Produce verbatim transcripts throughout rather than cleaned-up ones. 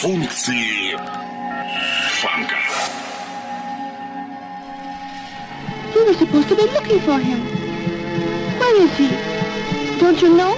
Функции фанка. You were supposed to be looking for him. Where is he? Don't you know?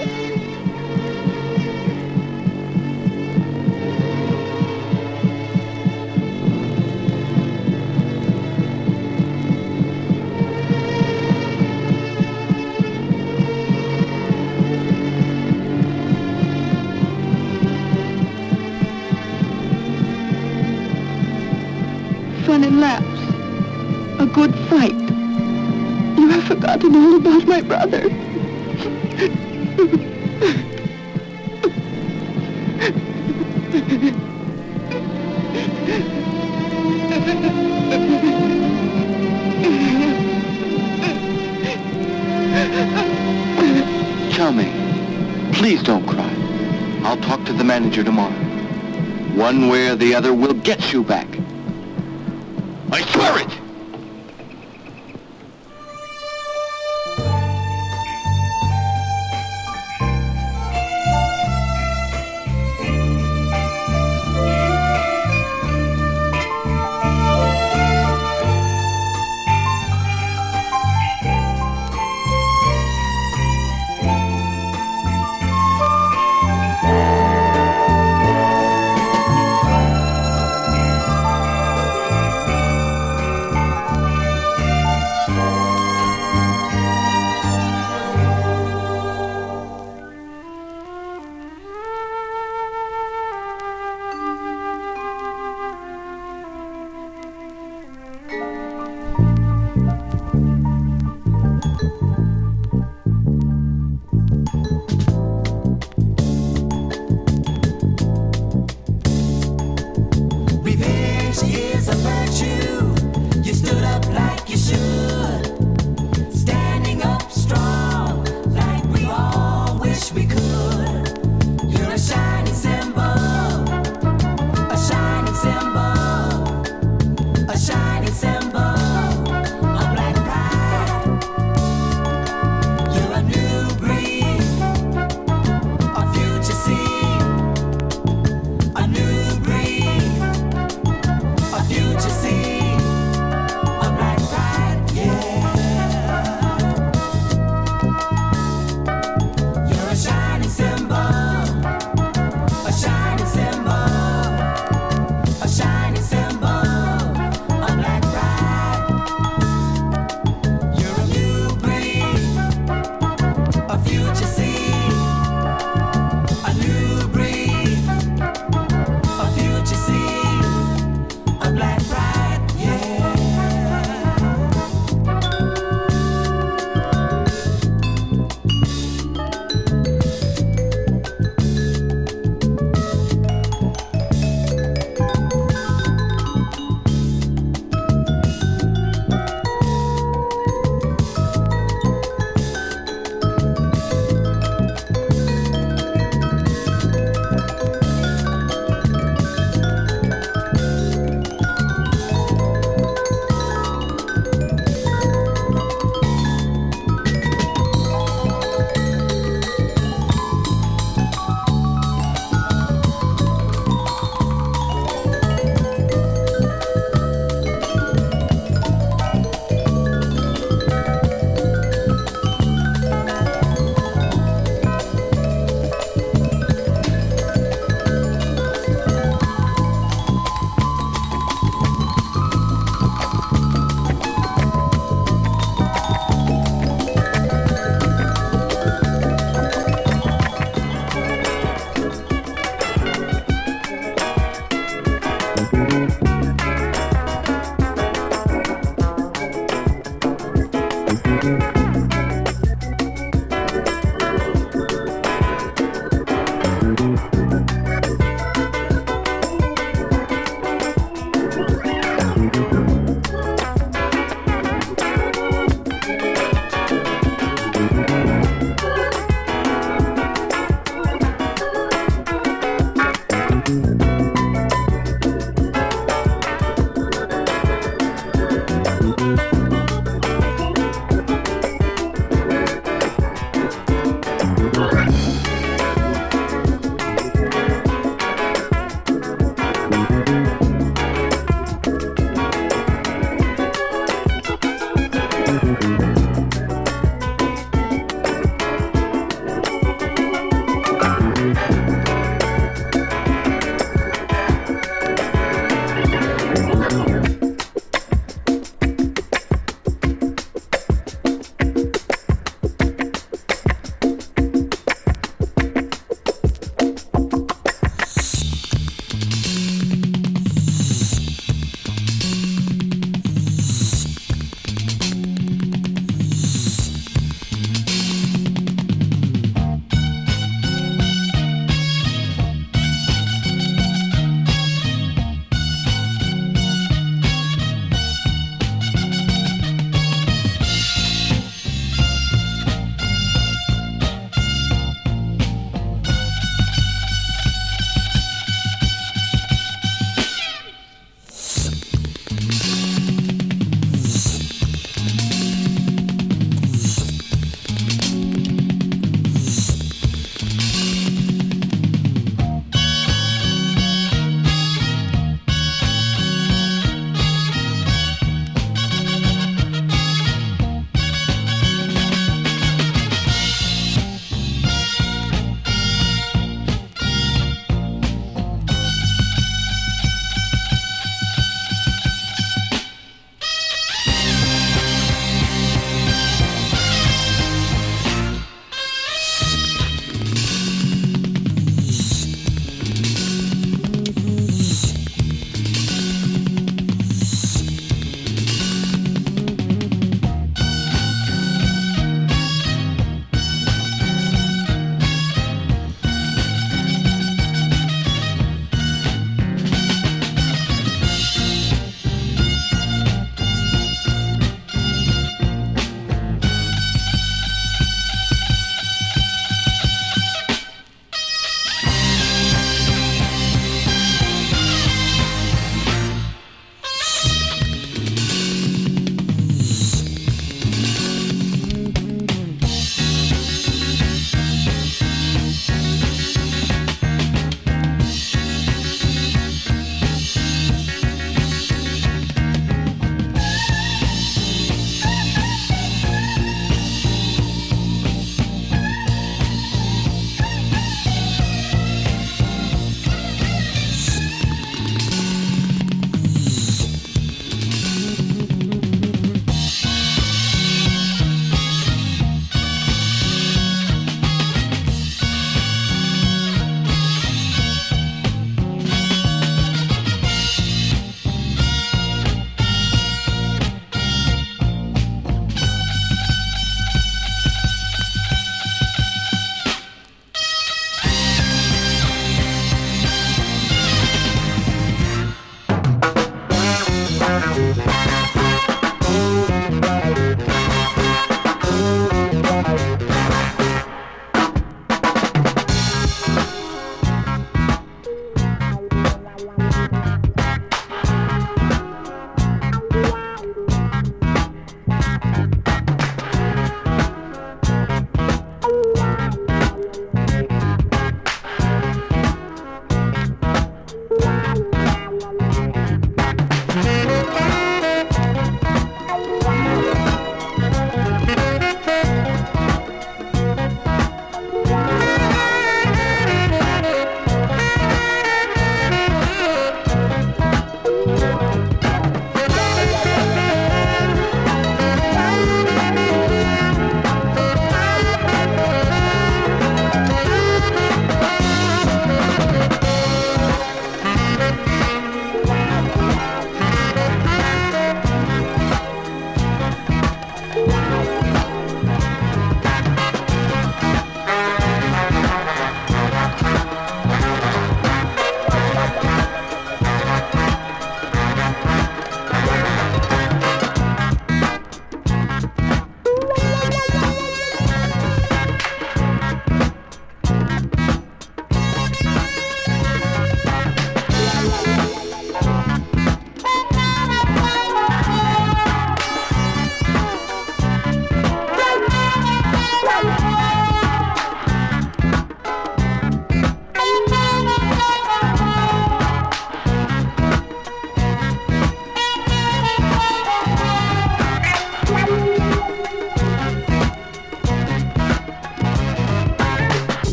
Fun and laughs. A good fight. You have forgotten all about my brother. Charming, please don't cry. I'll talk to the manager tomorrow. One way or the other, we'll get you back. I swear it!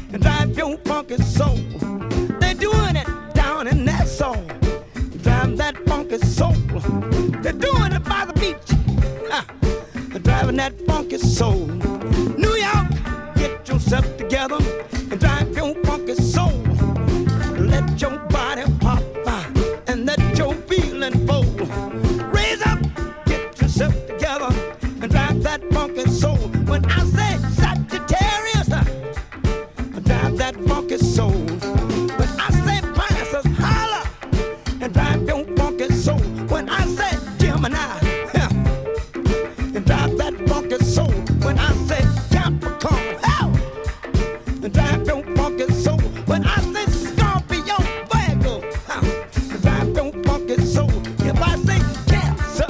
and drive your funky soul. They're doing it down in that soul. Drive that funky soul. They're doing it by the beach. Ah, they're driving that funky soul. New York, get yourself together and drive your funky soul. Let your body pop by and let your feeling flow. Raise up, get yourself together and drive that funky soul. When I say Sagittarius, drive that funky soul. When I say Pisces, holler and drive your funky soul. When I say Gemini, and drive that funky soul. When I say Capricorn, hell, and drive your funky soul. When I say Scorpio, Virgo, and drive your funky soul. If I say Cancer,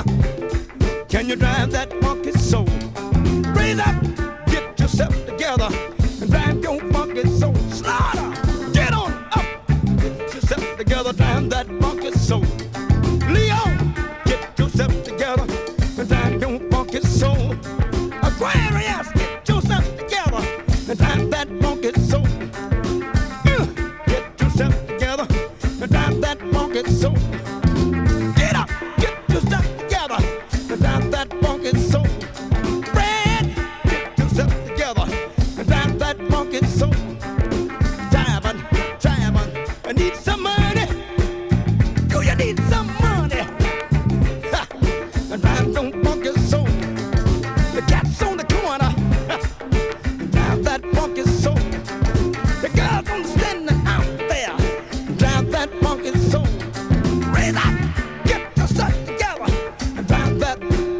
can you drive that funky soul? Raise up, get yourself together and drive your funky soul. Slaughter, get on up, get yourself together, drive that funky soul. Leo, get yourself together and drive your funky soul. Aquarius, get yourself together and drive that funky soul. Uh, Get yourself together and drive that funky soul. Get up, get yourself together and drive that funky soul. Fred, get yourself together and drive that funky soul. Diamond, diamond, I need some money. Do you need some money? Ha, and drive your funky soul. The cat's on the corner. Ha, drive that funky soul. The girls on the standing out there. Drive that funky soul. Raise up, get yourself together and drive that.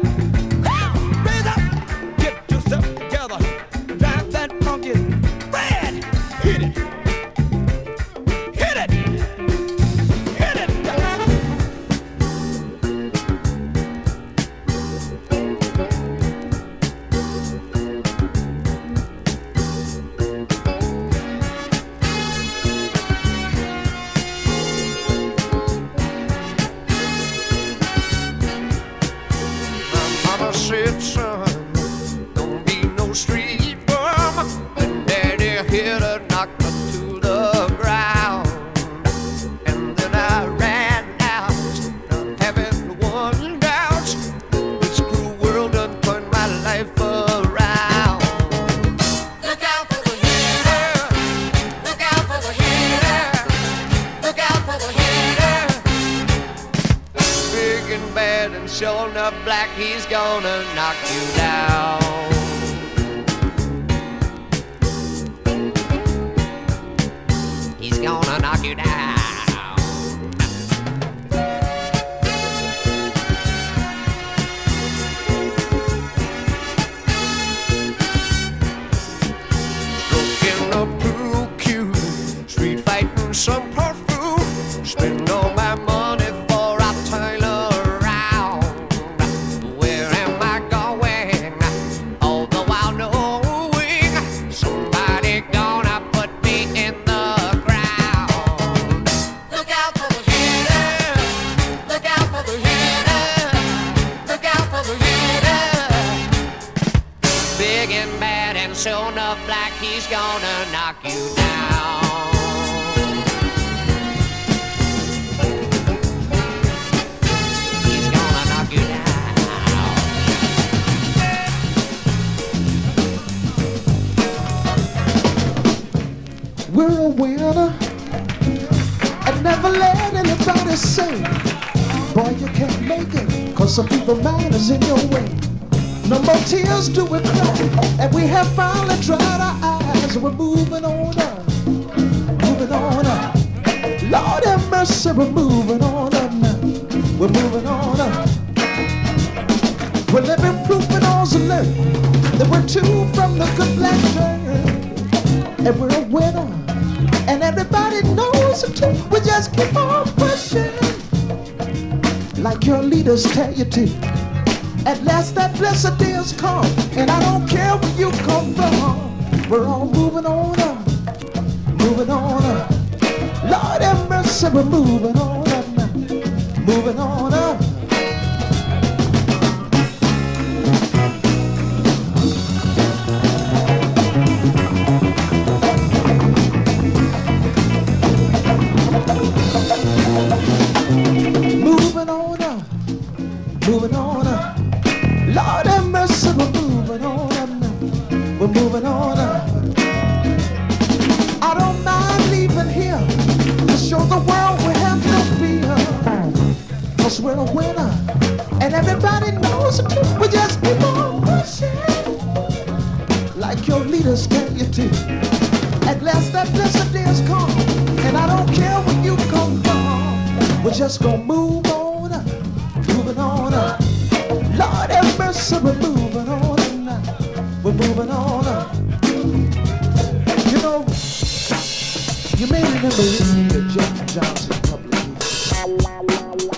Raise up, get yourself together and drive that funky. Red, hit it, hit it, hit it. Mama said, son, don't be no street bum. And Daddy hit a knocker to the ground. And then I ran out, not having one doubt. This cruel world done turned my life around. Look out for the hitter. Look out for the hitter. Look out for the hitter. Big and bad and sure enough black, he's gonna knock you down. He's gonna knock you down. Stroking a pool cue, street fighting some perfume. Spend all my money for I turn around. Where am I going? All the while knowing somebody gonna put me in the ground. Look out for the hitter. Look out for the hitter. Look out for the hitter. Big and bad and sure enough black, he's gonna knock you down. He's gonna knock you down. We're a winner, and never let anybody say, boy, you can't make it, cause some people mind is in your way. No more tears do we cry, and we have finally dried our eyes. We're moving on up, moving on up. Lord have mercy, we're moving on up now. We're moving on up. We're living proof and all's alert that we're two from the good black train, and we're a winner, and everybody knows it too. We just keep on pushing, like your leaders tell you to. At last that blessed day has come, and I don't care where you come from. We're all moving on up, moving on up. Lord have mercy, we're moving on up now, moving on up. we're a winner. And everybody knows it. We just keep on pushing. Like your leaders tell you to. At last that blessed day has come. And I don't care where you come from. We're just gonna move on up. Moving on up. Lord have mercy, we're moving on up. We're moving on up. You know, you may remember listening to Jack Johnson a couple of years ago.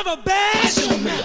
of a bad showman.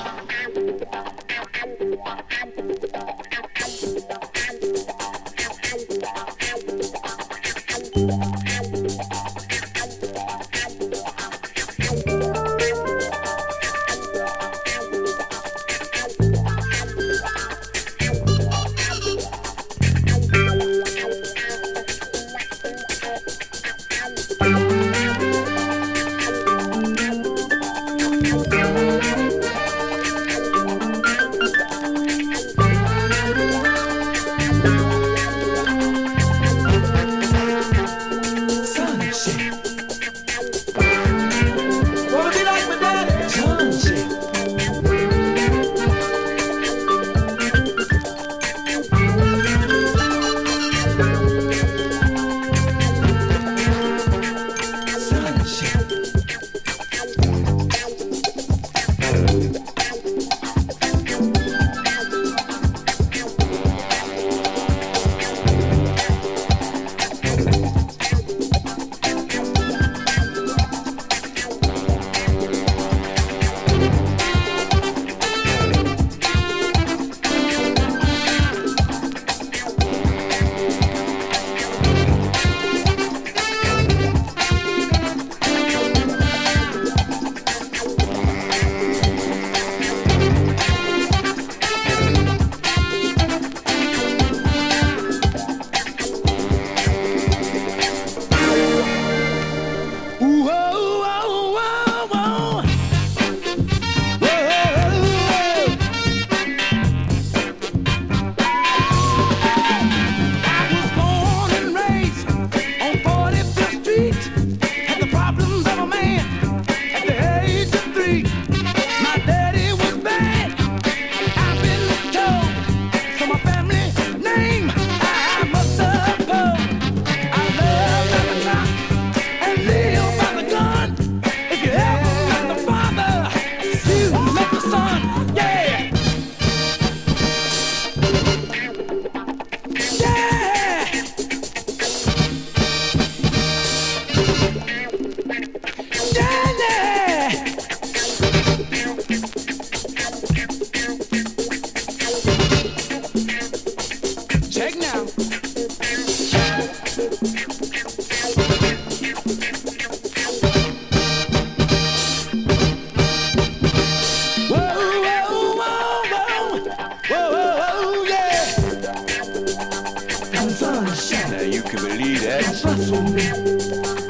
Now you can believe that.